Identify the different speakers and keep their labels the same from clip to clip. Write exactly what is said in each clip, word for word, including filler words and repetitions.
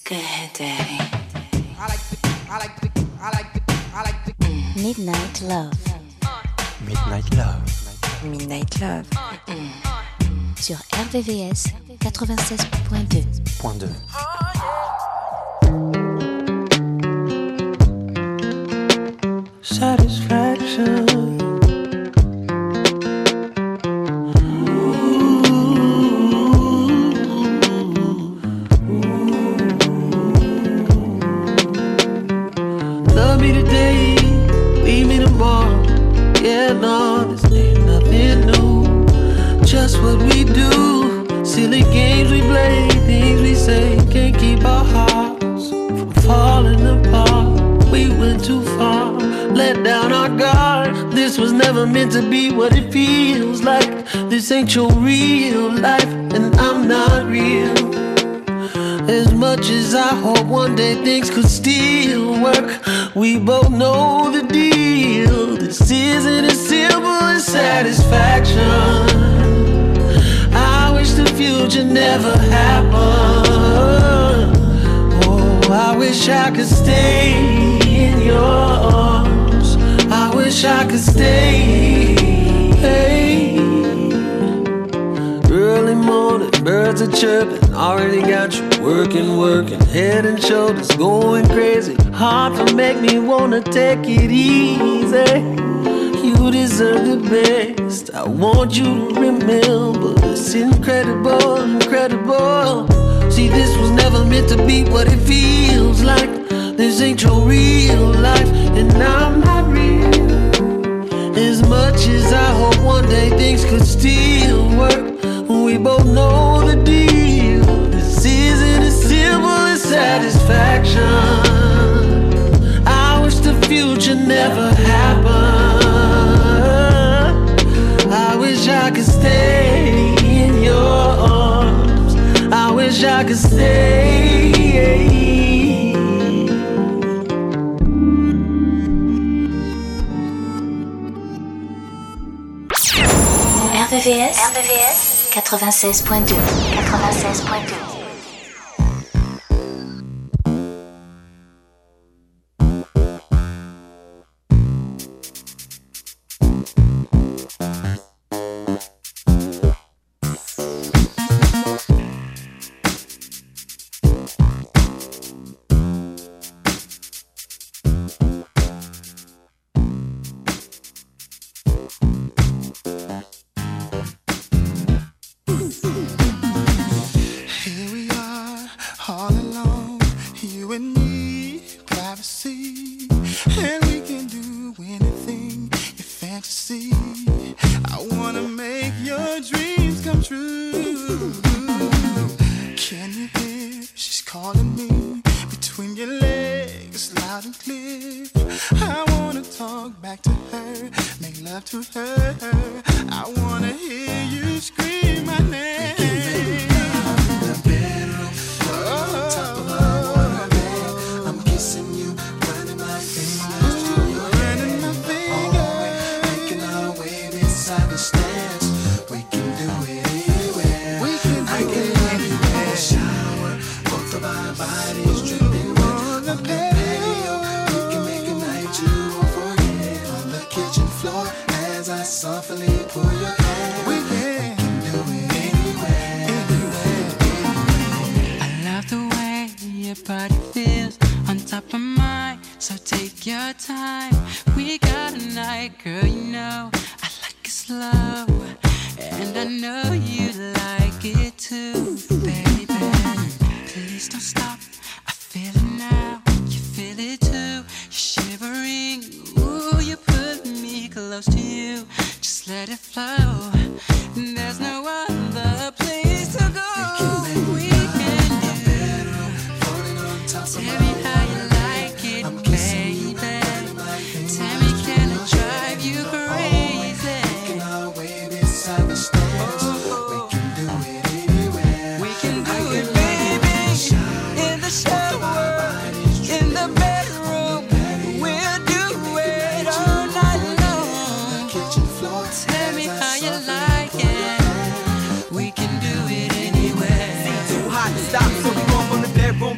Speaker 1: Go ahead, Daddy. I like the, I like the, I like the, I like the. Mm. Midnight Love.
Speaker 2: Midnight Love.
Speaker 1: Midnight Love. Mm. Sur R V V S quatre-vingt-seize point deux.
Speaker 2: Point deux.
Speaker 3: Satisfaction. Love me today, leave me tomorrow. Yeah, no, this ain't nothing new. Just what we do, silly games we play, things we say, can't keep our hearts from falling apart. We went too far, let down our guard. This was never meant to be what it feels like. This ain't your real life, and I'm not real. As much as I hope one day things could still work, we both know the deal. This isn't as simple as satisfaction. I wish the future never happened. Oh, I wish I could stay in your arms. I wish I could stay. Hey. Early morning, birds are chirping. Already got you working, working. Head and shoulders going crazy. Hard to make me wanna take it easy. You deserve the best. I want you to remember it's incredible, incredible. See, this was never meant to be what it feels like. This ain't your real life, and I'm not real. As much as I hope one day things could still work, we both know the deal. This isn't as simple as satisfaction. I wish the future never happened. I wish I could stay in your arms. I wish I could stay.
Speaker 1: R V V S, R V V S quatre-vingt-seize point deux. quatre-vingt-seize point deux.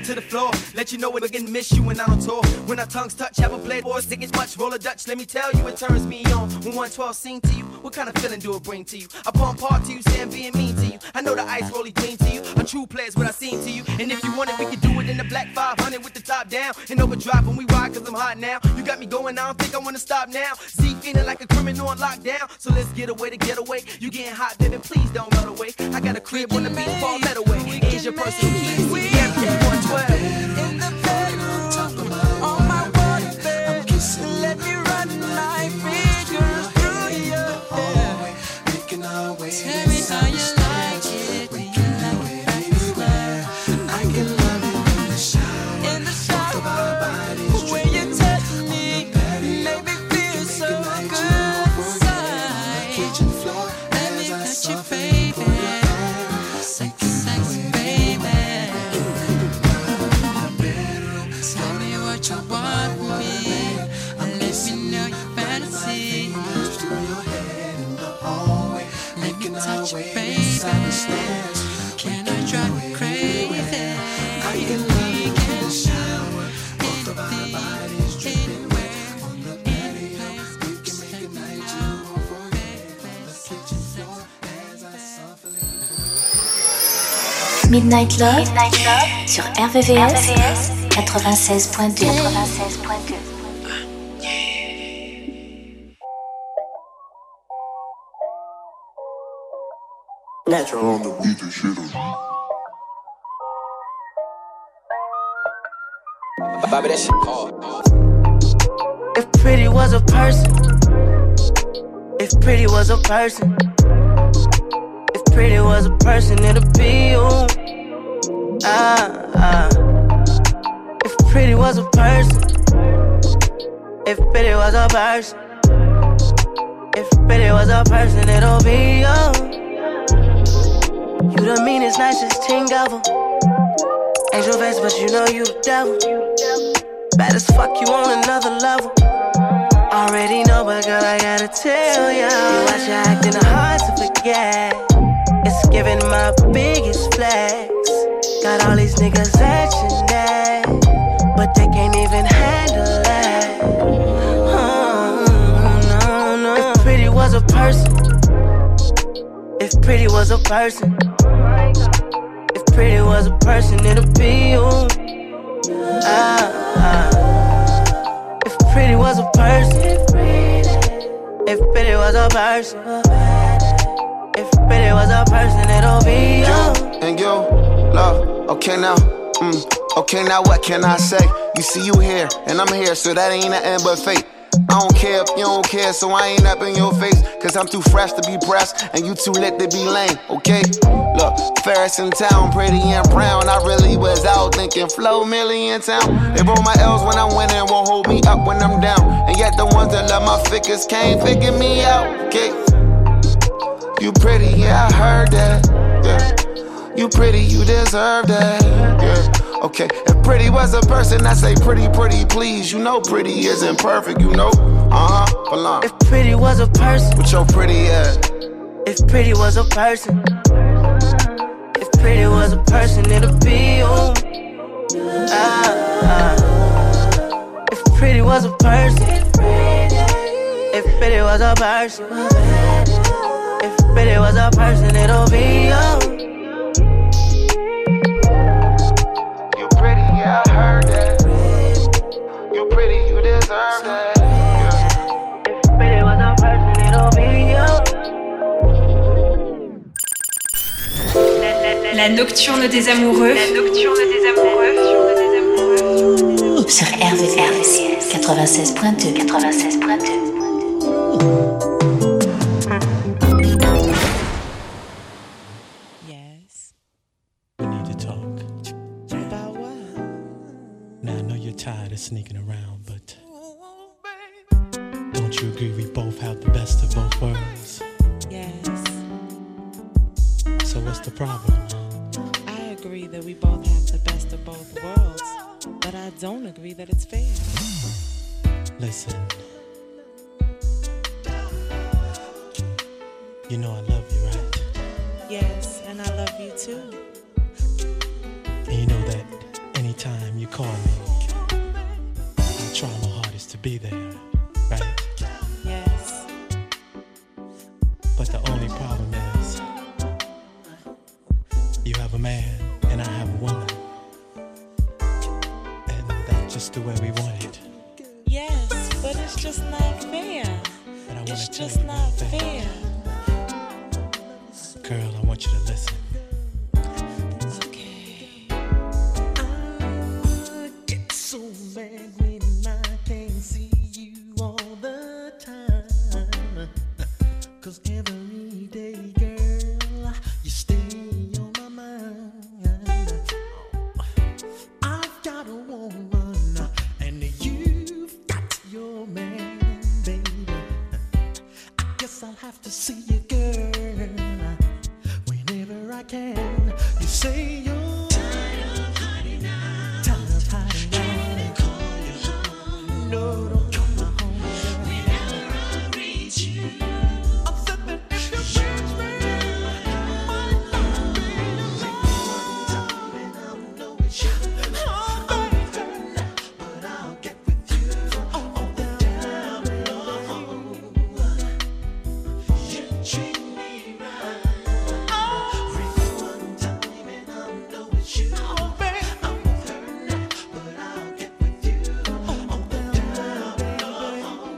Speaker 4: to the floor. Let you know we're gonna miss you when I'm on tour. When our tongues touch, have a blade or stick as much. Roll a Dutch, let me tell you, it turns me on. When one twelve sing to you, what kind of feeling do it bring to you? I pump hard to you, say I'm being mean to you. I know the ice rolly clean to you. A true player's what I seen to you. And if you want it, we can do it in the black five hundred with the top down. And overdrive when we ride, cause I'm hot now. You got me going, I don't think I wanna stop now. Z feeling like a criminal on lockdown. So let's get away to get away. You getting hot, baby, please don't run away. I got a crib on the beach, fall that away. Here's your personal keys, C M one twelve.
Speaker 5: In the bedroom, on my water bed, let me run my fingers through your hair. Tell me how you like it, do you like it anywhere? I can love you in the shower, in the shower, when you touch me, make me feel so good inside. Let me touch you, baby, sexy, sexy, baby. Tell me what you want from me, and let me know your fantasy. Let me touch you, baby. Can I drive you crazy? I can we can shower, both of our bodies dripping wet on the patio. We can make a night you won't forget. On the kitchen floor as I softly.
Speaker 1: Midnight Love, Midnight Love sur R V V S quatre-vingt-seize point deux. quatre-vingt-seize point deux.
Speaker 6: Natural on the beat and shit on. Bobby, that shit hard.
Speaker 3: If pretty was a person, if pretty was a person, if pretty was a person, it'd be you. Ah, ah. If pretty was a person, if pretty was a person, if pretty was a person, it'll be you. You the meanest, nicest thing ever. Angel face, but you know you the devil. Bad as fuck, you on another level. Already know, but girl, I gotta tell ya. You watch you acting hard to forget. It's giving my biggest flex. Got all these niggas at your neck, but they can't even handle that. Oh, no, no. If pretty was a person, if pretty was a person, if pretty was a person, it'd be you. Ah, ah. If pretty was a person, if pretty was a person, if pretty was a person, it'll be you.
Speaker 7: You and you, love. Okay now, mm, okay now, what can I say? You see you here, and I'm here, so that ain't nothing but fate. I don't care if you don't care, so I ain't up in your face. Cause I'm too fresh to be pressed, and you too lit to be lame, okay? Look, Ferris in town, pretty and brown. I really was out thinking Flo Millie in town. They roll my L's when I'm winning, won't hold me up when I'm down. And yet the ones that love my figures can't figure me out, okay? You pretty, yeah, I heard that, yeah. You pretty, you deserve that, yeah. Okay, if pretty was a person, I say pretty, pretty, please. You know pretty isn't perfect, you know. Uh-huh, for long.
Speaker 3: If pretty was a person,
Speaker 7: with your pretty ass.
Speaker 3: If pretty was a person, if pretty was a person, it'd be you. Ah, ah. If pretty was a person, if pretty was a person, if pretty was a person, it'll be you.
Speaker 7: Yeah, I heard that. You pretty, you deserve that. Yeah.
Speaker 3: If pretty was a person, it'll be you.
Speaker 8: La nocturne des amoureux. La nocturne des amoureux.
Speaker 1: Sur R V V S quatre-vingt-seize point deux. quatre-vingt-seize point deux.
Speaker 2: Yes. We need to talk. Tired of sneaking around, but don't you agree we both have the best of both worlds?
Speaker 9: Yes.
Speaker 2: So what's the problem?
Speaker 9: I agree that we both have the best of both worlds, but I don't agree that it's fair.
Speaker 2: Listen, you know I love you, right?
Speaker 9: Yes, and I love you too.
Speaker 2: And you know that you call me, I try my hardest to be there, right?
Speaker 9: Yes.
Speaker 2: But the only problem is, you have a man and I have a woman, and that's just the way we want it.
Speaker 9: Yes, but it's just not fair.
Speaker 2: But I want
Speaker 9: It's
Speaker 2: to tell
Speaker 9: just
Speaker 2: you
Speaker 9: not
Speaker 2: one thing.
Speaker 9: fair.
Speaker 2: Girl, I want you to listen.
Speaker 9: Okay.
Speaker 3: I get so mad when I can't see you all the time. Cause every day, girl, you stay on my mind. I've got a woman, and you've got your man, baby. I guess I'll have to see you, girl, whenever I can. You say you're tired of hiding out. Tired of hiding out. Can't call you home. No, don't come my home, girl. Whenever I reach you, I said that if you reach me, I might not be alone. And I know it's you. Oh, baby, but I'll get with you. Oh, down low. You treat me right. One time and I know it's you. Oh, baby, I'm with her now, but I'll get with you. Oh, down low.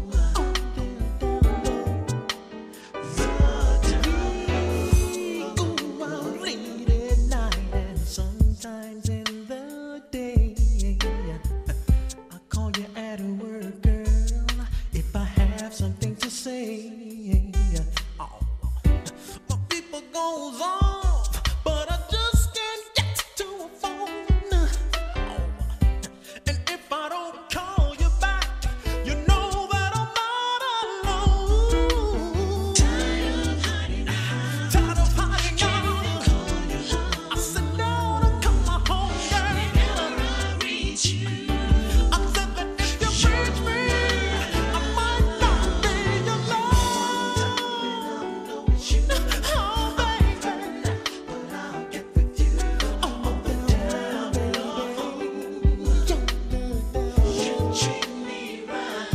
Speaker 3: Ooh, I'm late at night and sometimes in the day. I call you at work, girl, if I have something to say. Oh, my people goes off, but I just can't get to a phone. Oh, and if I don't call you back, you know that I'm not alone. Tired of hiding out. Tired of hiding out. I said no, don't come my home, girl. Whenever I reach you, I said that if you reach me, I might not be alone. I know it's you. Oh, baby, but I'll get with you. Oh, down, baby. You treat me right.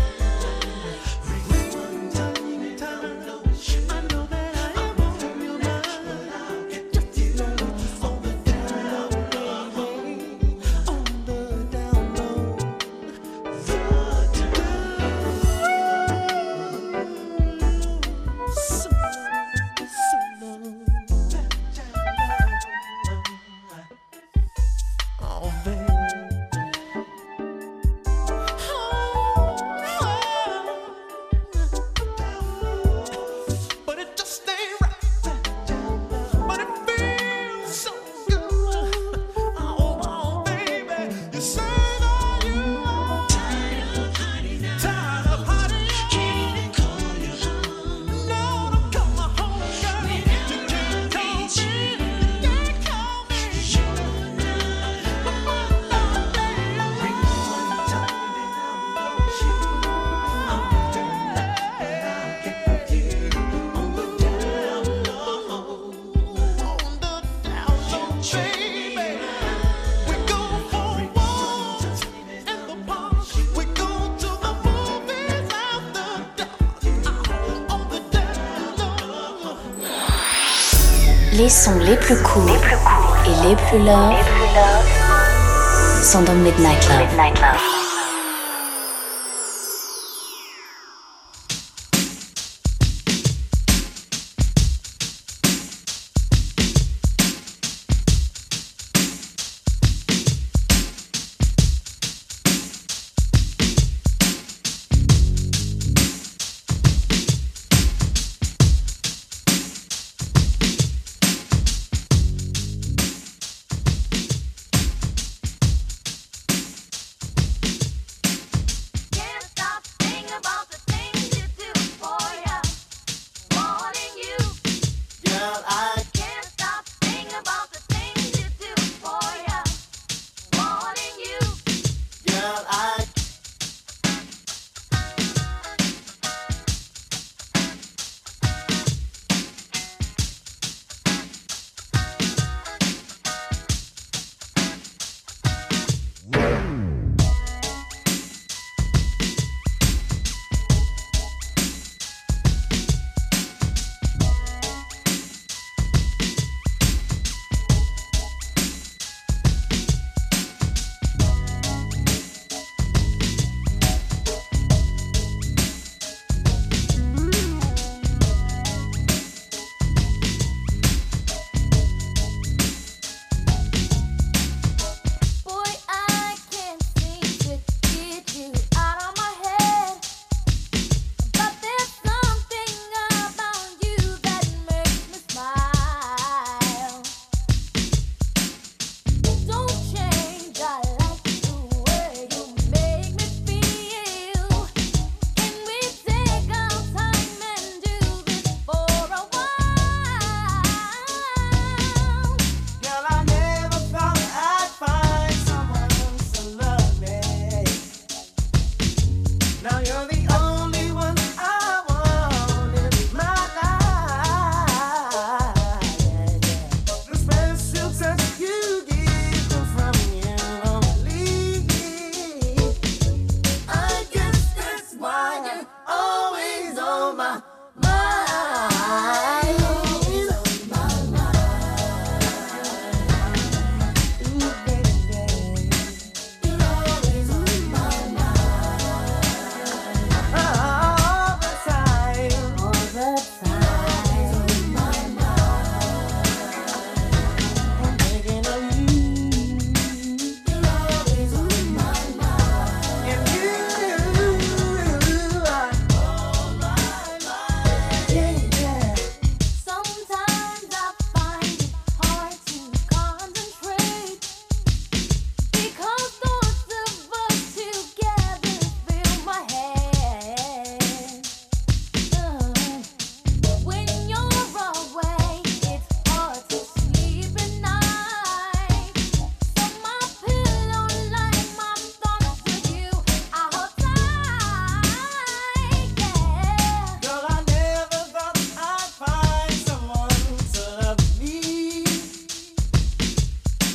Speaker 3: One time, time, I know it's you. I know that I am on your mind, but I'll get with you. On the down low, baby. On the down low. The down low. So, so low. Oh, baby. But it just ain't right. But it feels so good. Oh, oh, baby. You say that you are tired of hiding out. Tired of hiding out. Can't call you home. No, don't come my home, girl. You can't call me. You can't call me. Sure enough, I might not be alone. One time and I know it's you. I'm with her now, but I'll get with you. On the down low. On the down low, baby. We go for walks in the park. We go to the movies after dark. On the down low.
Speaker 1: Les sons les plus cool et les plus love sont dans Midnight Love.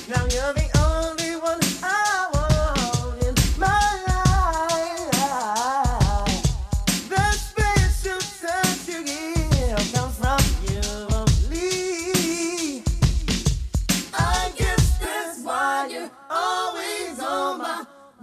Speaker 3: Now you're the only one I want in my life. The special touch you give comes from you only. I guess that's why you're always on my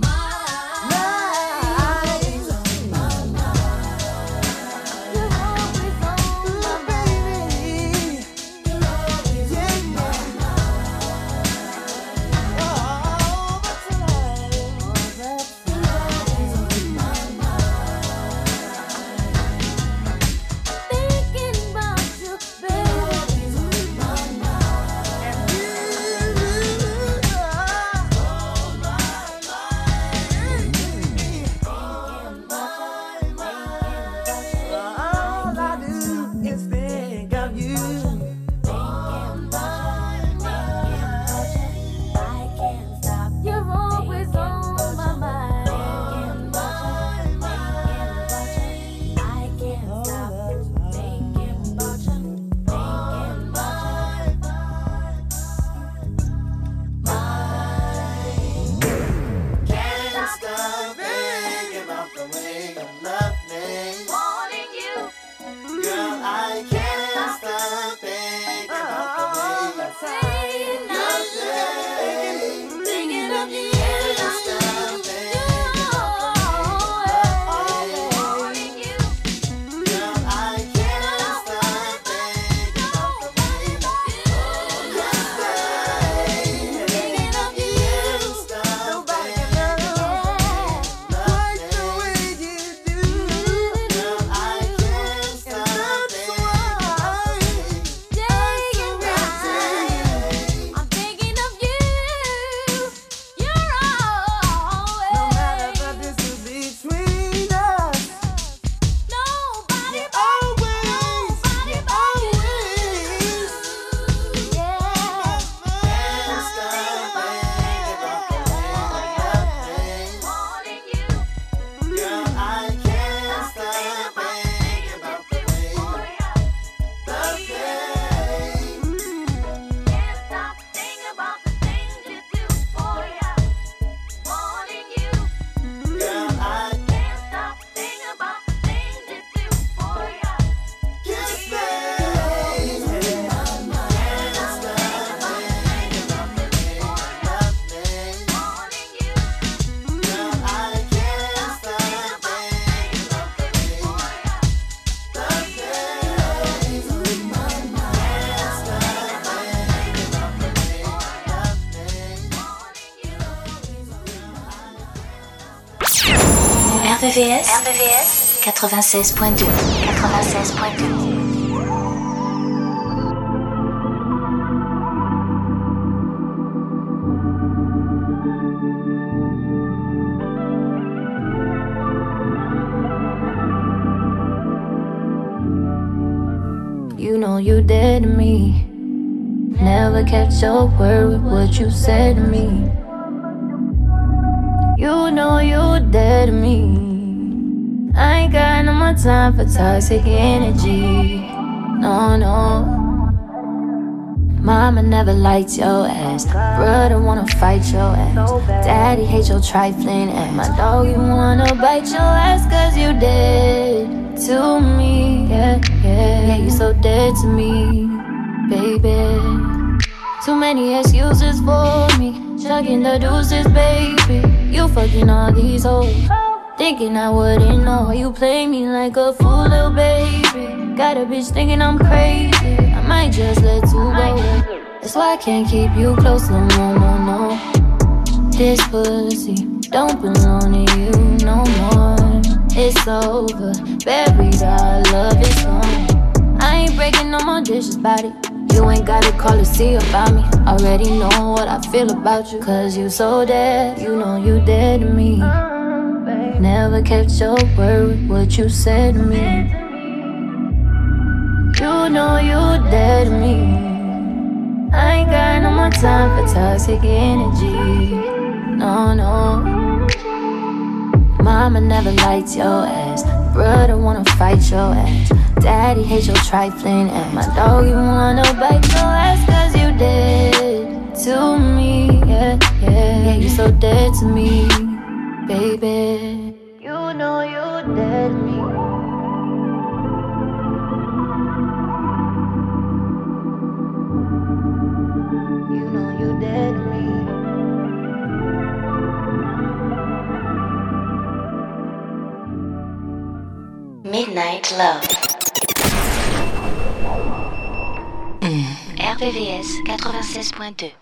Speaker 1: R V V S, R V V S quatre-vingt-seize point deux. quatre-vingt-seize point deux.
Speaker 10: You know you dead to me. Never kept your word with what you said to me. You know you dead to me. I ain't got no more time for toxic energy. No, no. Mama never liked your ass. Brother wanna fight your ass. Daddy hates your trifling ass. My dog, you wanna bite your ass cause you dead to me. Yeah, yeah, yeah, you so dead to me, baby. Too many excuses for me. Chugging the deuces, baby. You fucking all these hoes. Thinking I wouldn't know. You play me like a fool, little baby. Got a bitch thinking I'm crazy. I might just let you go. That's why I can't keep you close no more, no, no. This pussy don't belong to you no more. It's over, buried, our love is gone. I ain't breaking no more dishes about it. You ain't gotta call to see about me. Already know what I feel about you. Cause you so dead, you know you dead to me. Never kept your word with what you said to me. You know you dead to me. I ain't got no more time for toxic energy. No, no. Mama never liked your ass. Brother wanna fight your ass. Daddy hates your trifling ass. My dog, you wanna bite your ass cause you dead to me. Yeah, you so dead to me, baby. You know you dead to me. You know you dead to me.
Speaker 1: Midnight Love. R V V S quatre-vingt-seize point deux.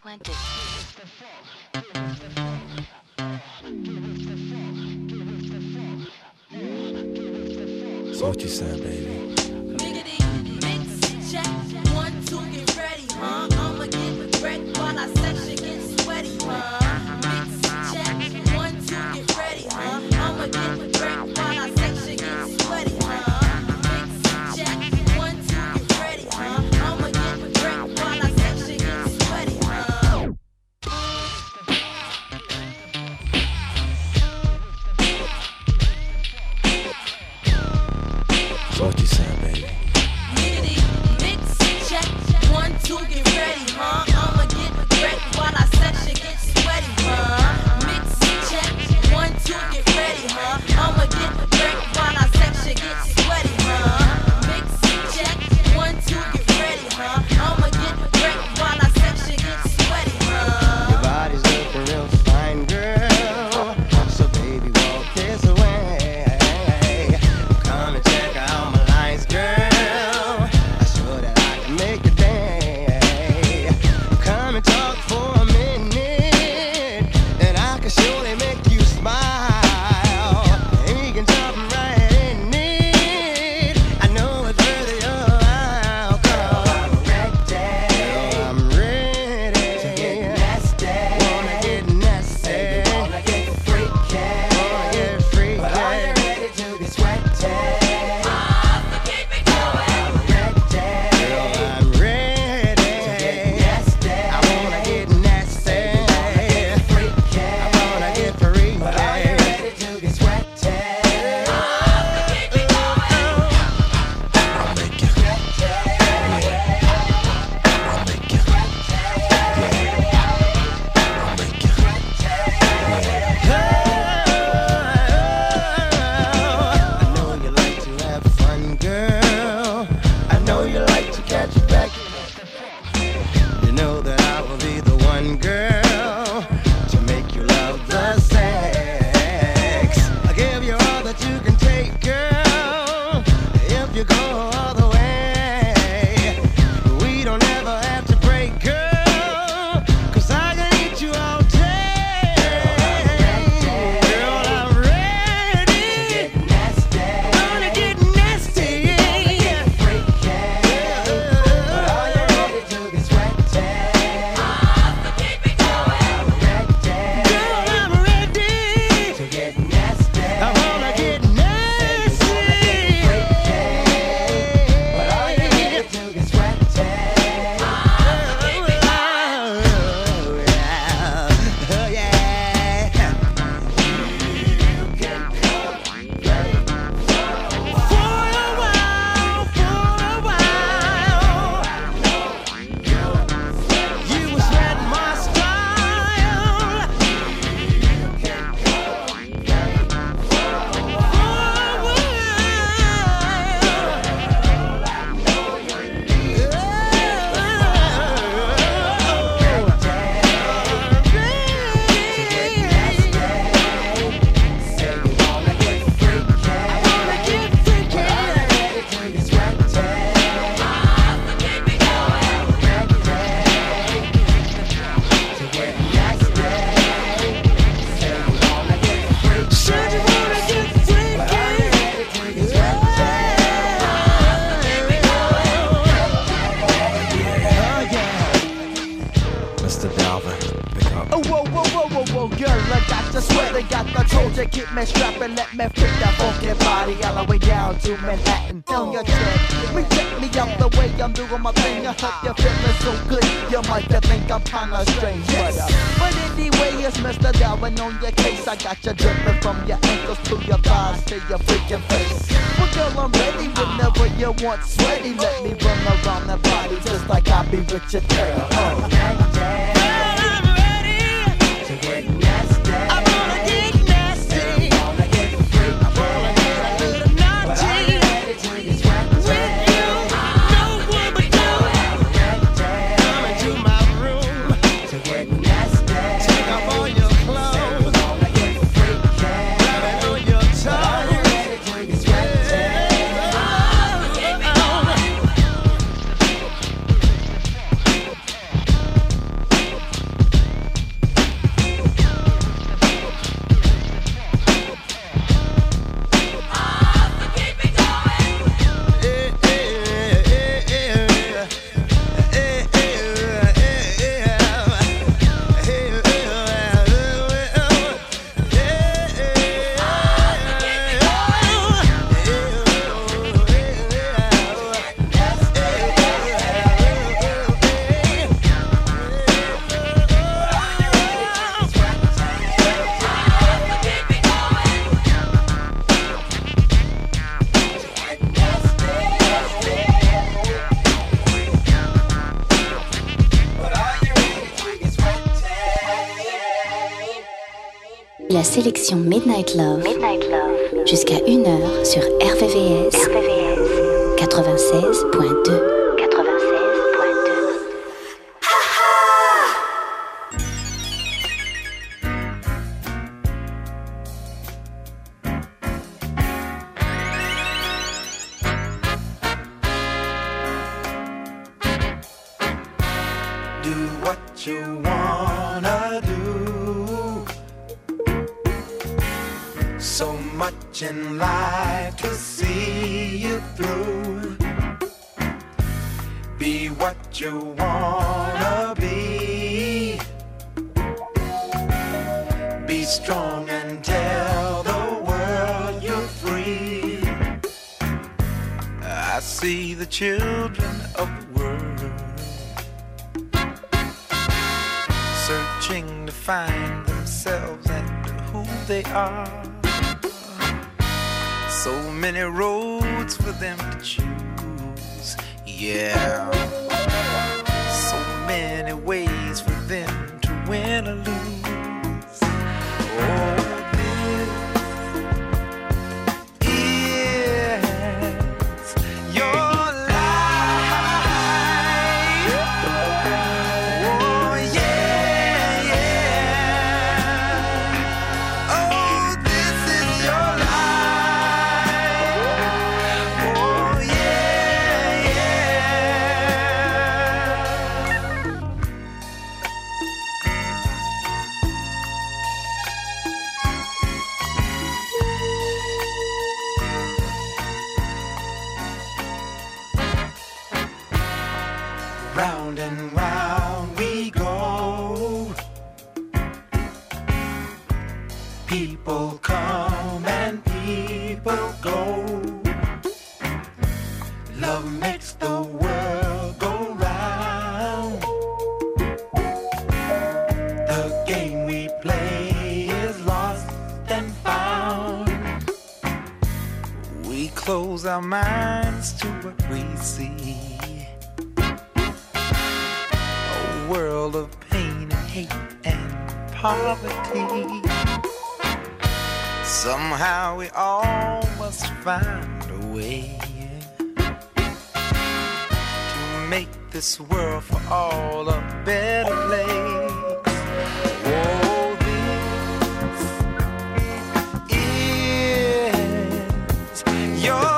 Speaker 11: So what you saying, baby?
Speaker 5: Mix, check, one, two, get ready, huh? I'ma get wrecked while I section get sweaty, huh? Mix, check, one, two, get ready, huh? I'ma get wrecked while I section get sweaty, huh? Mix, check, one, two, get ready, huh? I'ma get wrecked while I section get sweaty, huh?
Speaker 11: So what you saying, baby?
Speaker 5: Mix, check, one, two, get ready, huh? I'ma get wrecked while I section get sweaty, huh? Mix, check, one, two, get ready, huh? I'ma get wrecked while I section get sweaty, huh? Mix, check, one, two, get ready, huh? I'ma get wrecked while I section get sweaty, huh?
Speaker 12: Your body's looking real fine, girl. So baby, walk this way. Come and check out my lines, girl. I sure that I can make it day. Come and talk for a minute, and I can surely make you smile. And we can jump right in it. I know it's worth your while. Come, I'm ready. I'm ready to get nasty. Wanna get nasty. Wanna get freaky. Wanna get freaky. But are you ready to get sweaty? I'm ready to get nasty. I wanna get nasty. I wanna get freaky. But are you ready to get sweaty?
Speaker 11: I'll make it. I'll make it. I'll make it.
Speaker 12: I know you like to have fun, girl. I know you like to catch it back. You know that I will be the one, girl, to make you love the sex. I'll give you all that you can take, girl, if you go all the way. We don't ever have to break, girl, 'cause I can eat you all day. Girl, I'm ready to get nasty. Gonna get nasty. Get freaky. But are you ready to get sweaty? Keep it going. I'm ready. Girl, I'm ready to get nasty. I wanna get nasty. But are you ready to get sweaty? Oh yeah. You can come ready for a while, for a while. You was read my style. You can come ready for a while.
Speaker 11: Mister Dalvin, pick up.
Speaker 4: Oh, whoa, whoa, whoa, whoa, whoa, girl, I got the sweat, I got the told you, keep me strapped and let me fit that funky body all the way down to Manhattan. On your chest, me check me out the way I'm doing my thing. I hope you're feeling so good, you might think I'm kinda strange, but, uh, but anyway, it's Mister Darwin on your case. I got you dripping from your ankles to your thighs to your freaking face. Well, girl, I'm ready whenever you want sweaty. Let me run around that body just like I be with your girl. Oh.
Speaker 5: I'm ready to get
Speaker 1: La sélection Midnight Love, Midnight Love. Jusqu'à une heure sur R V V S, R V V S. quatre-vingt-seize point deux.
Speaker 13: You wanna do so much in life to see you through. Be what you wanna be. Be strong and tell the world you're free. I see the children of the world searching to find themselves and who they are. So many roads for them to choose, yeah. So many ways for them to win or lose. Oh, this is your round and round we go. People come and people go. Love makes the world go round. The game we play is lost and found. We close our minds to what we see. World of pain and hate and poverty. Somehow we all must find a way to make this world for all a better place. Oh, this is your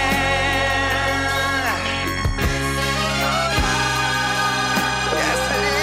Speaker 13: yes it is.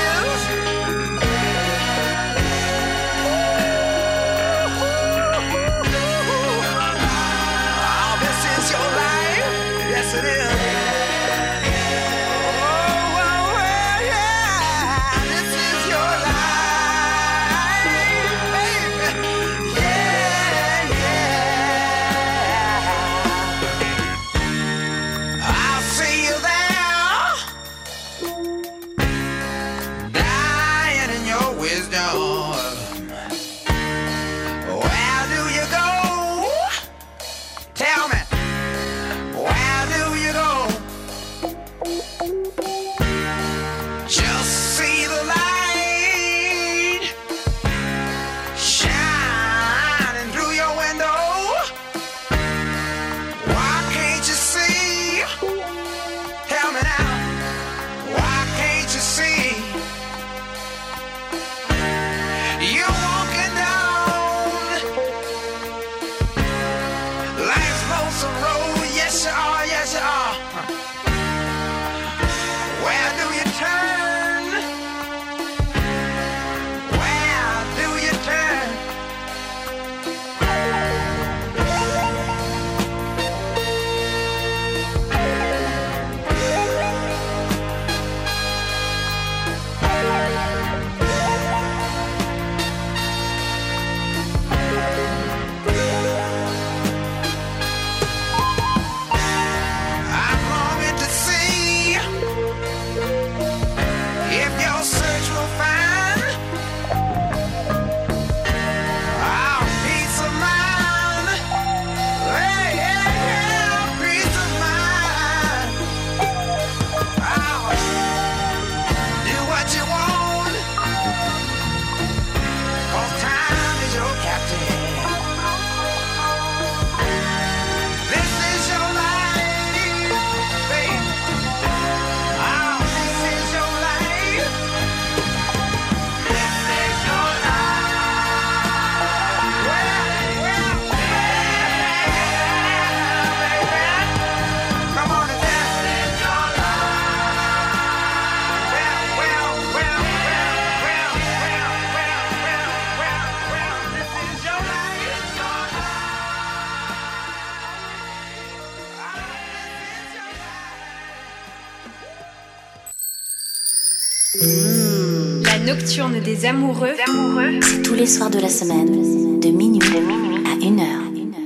Speaker 8: nocturne des amoureux.
Speaker 1: C'est tous les soirs de la semaine, de minuit, de minuit à une heure.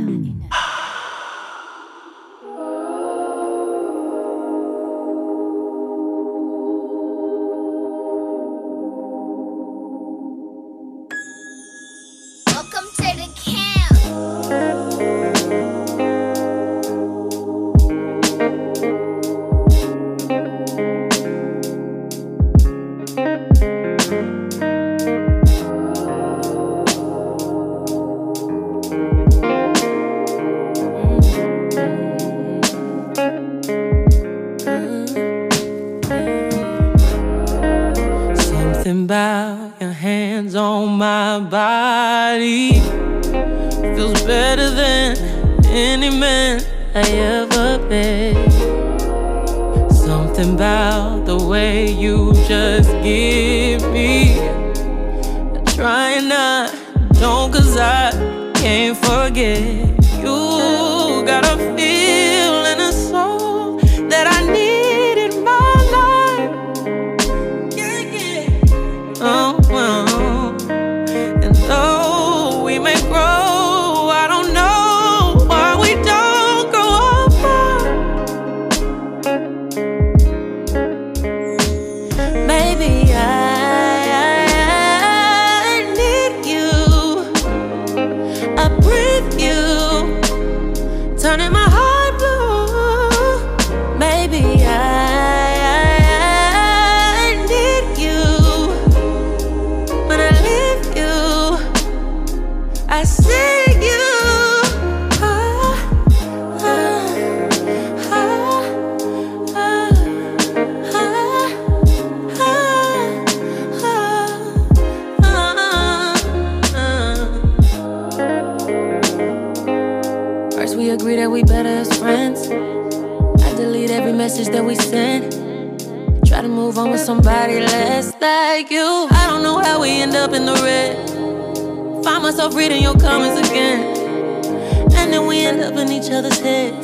Speaker 14: Reading your comments again, and then we end up in each other's heads.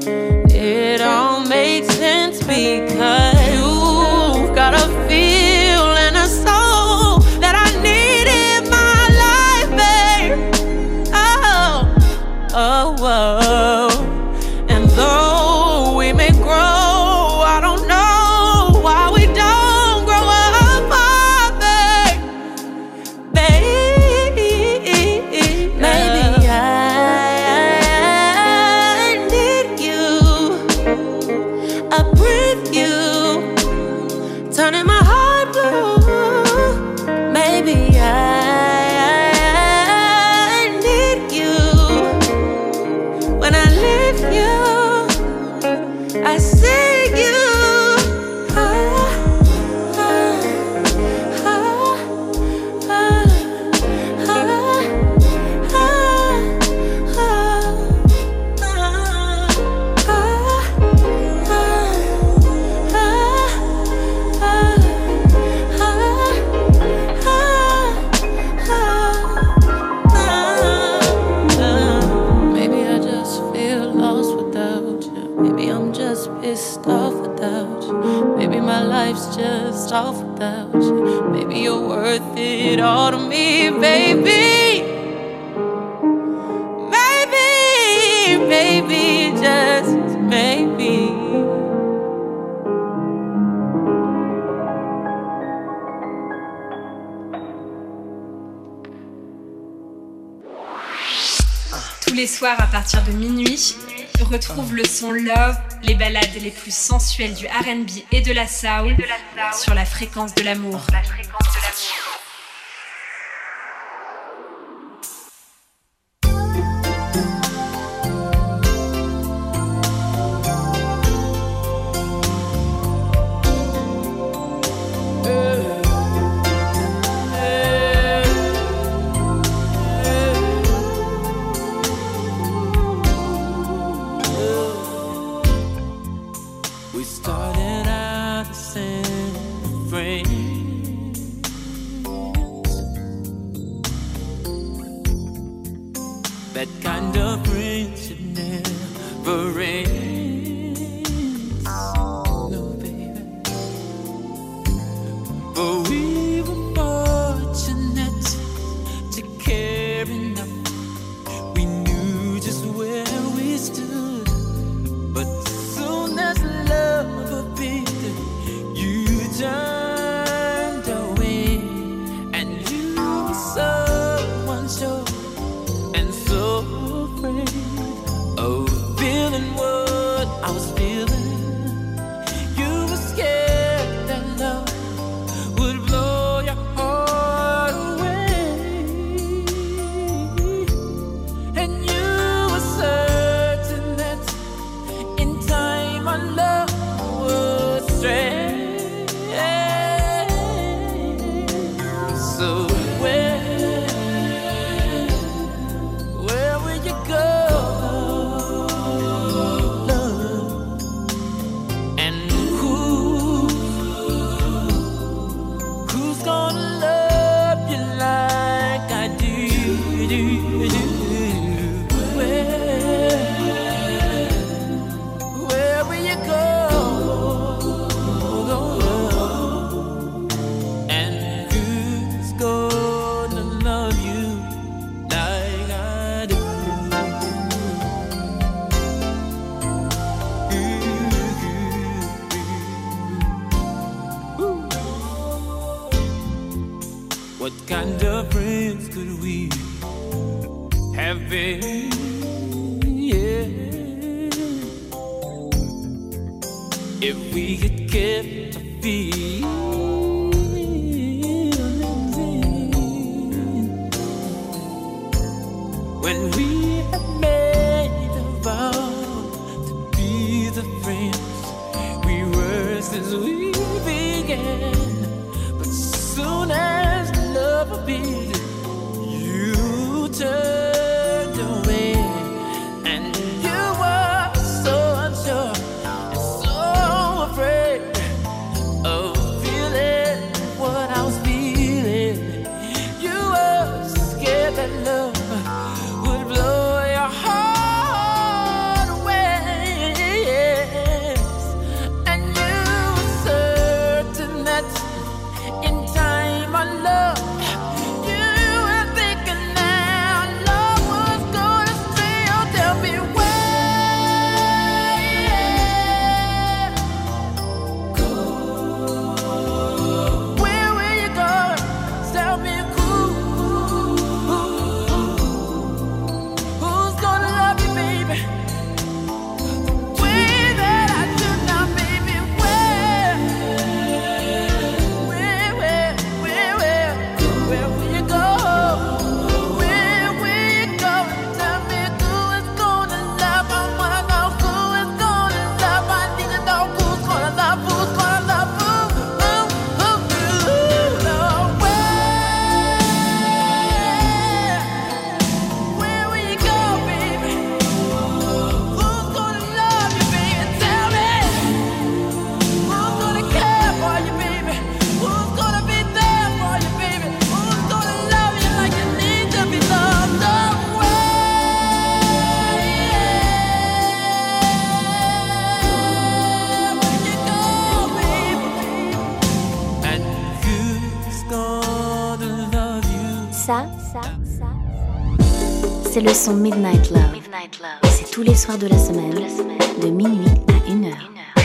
Speaker 14: It all makes sense because you've got a feel and a soul that I need in my life, babe. Oh, oh, oh. And though we may grow, I don't know why we don't grow up, babe, babe. Just off without you. Maybe you're worth it all to me, baby. Maybe, maybe, just maybe.
Speaker 8: Tous les soirs à partir de minuit, retrouve le son Love, les ballades les plus sensuelles du R and B et de la soul sur la fréquence de l'amour. La fréquence de l'amour.
Speaker 15: That kind of friendship never ends. No, baby. But we were born So where, where will you go, love? And who, who's gonna love you like I do, do, do? Where, where will you go? What kind of friends could we have been? Yeah, if we had kept our feelings in, when we had made a vow to be the friends we were since we began. But soon as love beat, you turned away, and you were so unsure and so afraid of feeling what I was feeling. You were scared that love would blow your heart away, yes. And you were certain that in time our love, you were thinking now love was gonna stay. Oh, tell me where, go, where will you go? Tell me who, who's gonna love you, baby, the way that I do now, baby. Where, where, where, where, where, where will you go? Where will you go? Tell me who is gonna love. I wanna know who is gonna love. I need to know who's gonna love, who's gonna love who, who, who, who, no, where, where will you go, baby? Who's gonna love you, baby? Tell me. Who's gonna care for you, baby? Who's gonna be there for you, baby? Who's gonna love you like you need to be loved? Oh, where will you go, baby? And who's gonna love you?
Speaker 1: Ça, ça, ça, c'est le son Midnight Love. Midnight Love. Et c'est tous les soirs de la semaine, de minuit à une heure.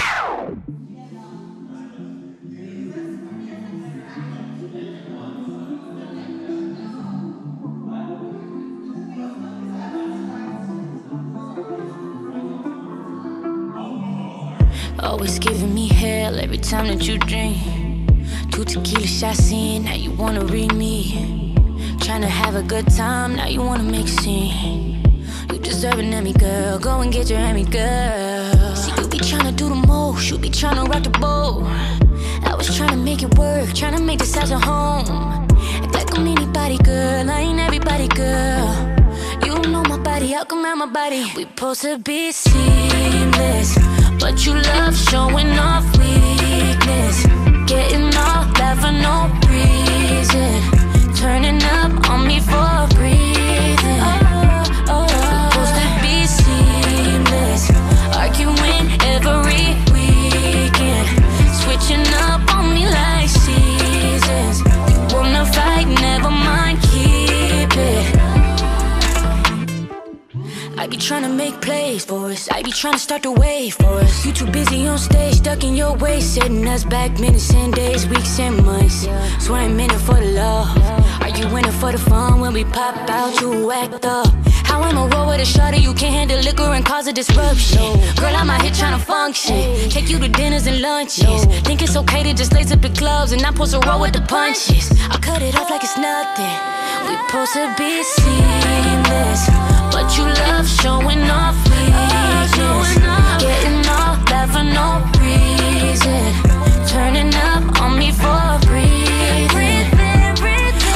Speaker 14: Always giving me hell every time that you drink. Two tequila shots in, now you wanna read me. Tryna have a good time, now you wanna make a scene. You deserve an Emmy, girl, go and get your Emmy, girl. See, you be tryna do the most, you be tryna rock the boat. I was tryna make it work, tryna make this house a home. Act like I'm anybody, girl, I ain't everybody, girl. You know my body, how come out my body? We supposed to be seamless, but you love showing off weakness. Getting off that for no reason. Turning up on me for a breathing. Oh, oh, oh. Supposed to be seamless, arguing every weekend. Switching up on me like seasons. You wanna fight, never mind, keep it. I be tryna make plays for us, I be tryna start the wave for us. You too busy on stage, stuck in your way, setting us back minutes and days, weeks and months. Swear I'm in it for the love. Are you in it for the fun? When we pop out, you act up. How I'ma roll with a shorty, you can't handle liquor and cause a disruption. Girl, I'm out here tryna function, take you to dinners and lunches. Think it's okay to just lace up the clubs and not supposed to roll with the punches. I cut it off like it's nothing. We supposed to be seamless, but you love showing off weakness. Getting off that for no reason. Turning up on me for a breathing.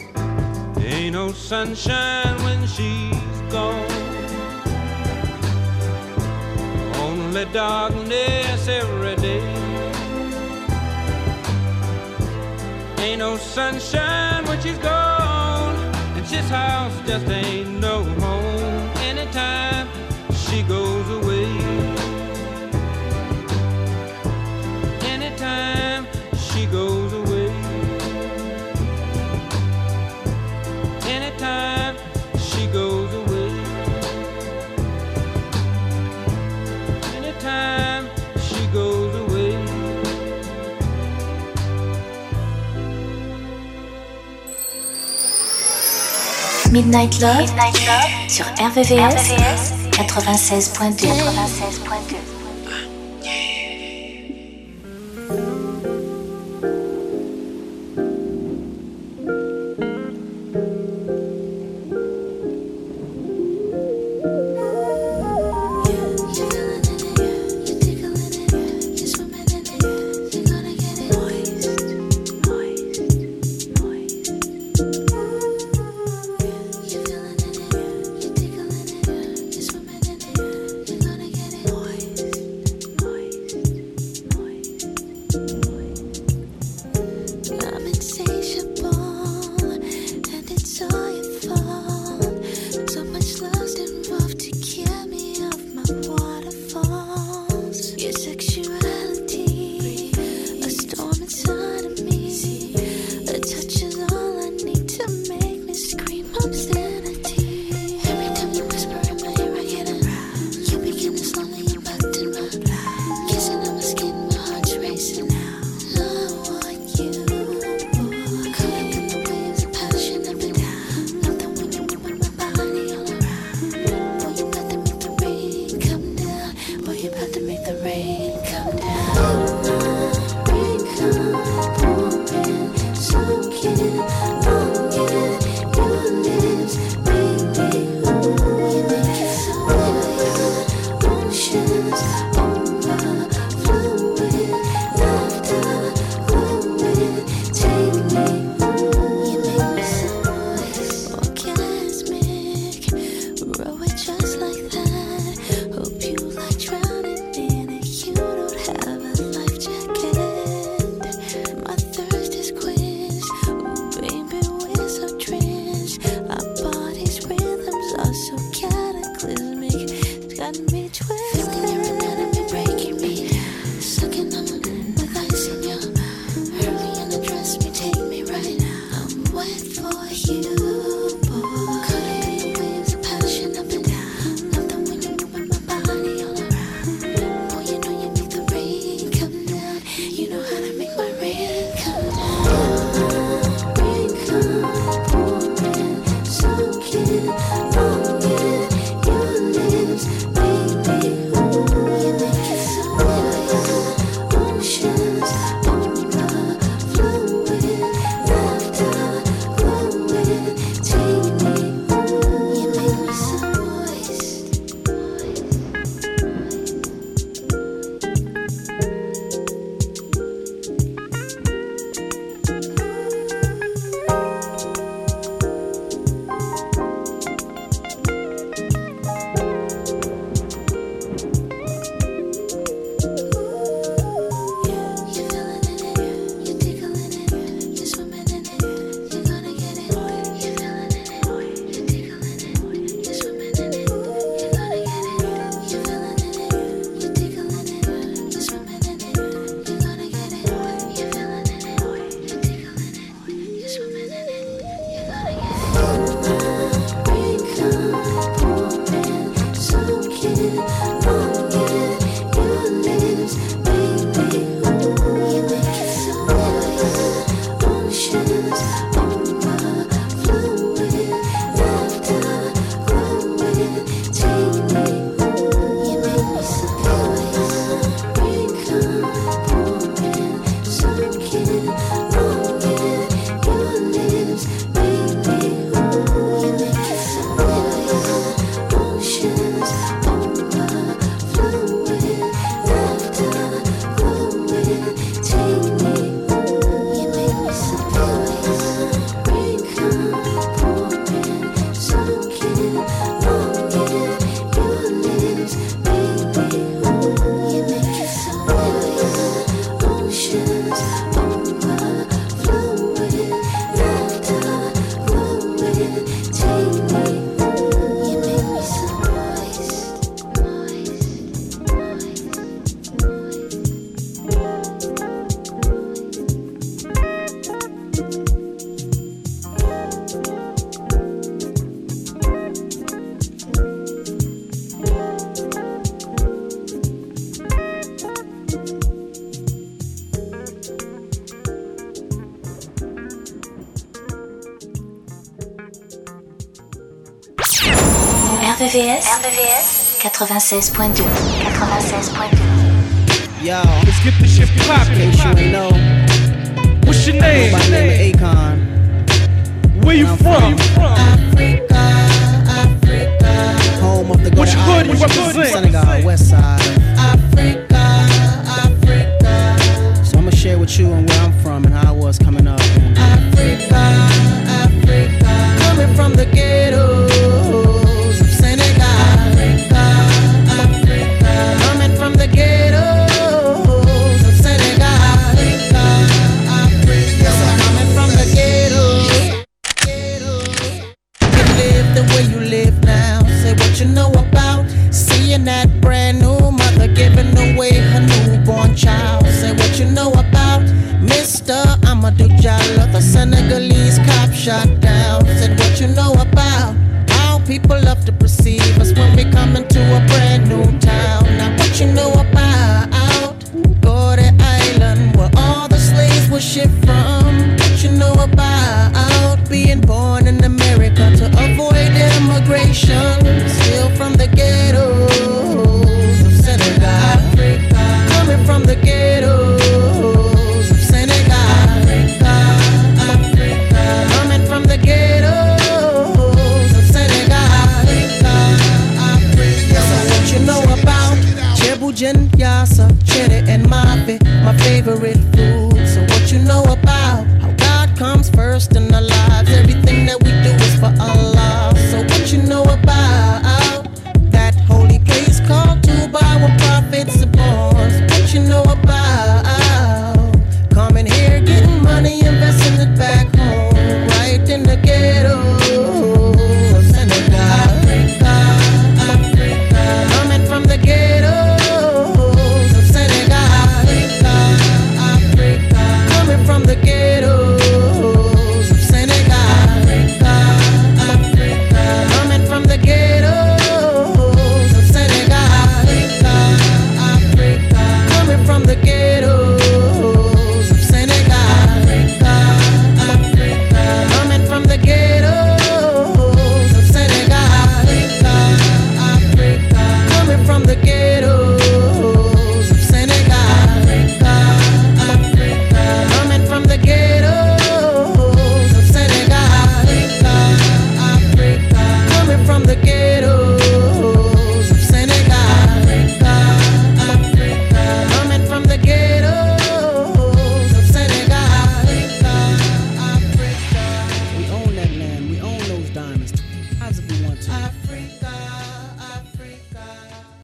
Speaker 16: Ain't no sunshine when she's gone. Only darkness every day. Ain't no sunshine when she's gone, and this house just ain't no home anytime she goes away. Anytime she goes away. Anytime she goes away. Anytime she goes away.
Speaker 1: Midnight Love, Midnight Love sur R V V S quatre-vingt-seize point deux. quatre-vingt-seize point deux.
Speaker 10: Boys.
Speaker 1: V V S, R V V S quatre-vingt-seize point deux. quatre-vingt-seize point deux.
Speaker 17: Yo, let's get this shit poppin'. In case you ain't know, what's your name? My name is Akon. Where you from?
Speaker 18: Africa, Africa.
Speaker 17: Home of the Which hood you represent?
Speaker 18: Senegal, West Side. Africa, Africa.
Speaker 17: So I'ma share with you and where I'm from and how I was coming up.
Speaker 18: Africa, Africa. Coming from the ghettos of Senegal. Africa, Africa. Coming from the ghettos of Senegal. Africa, Africa. Yes, I'm coming from the ghettos. You live the way you live now. Say what you know about seeing that brand new mother giving away her newborn child. Say what you know about Mister Amadou Diallo, the Senegalese cop shot down. Said what you know about how people love to perceive us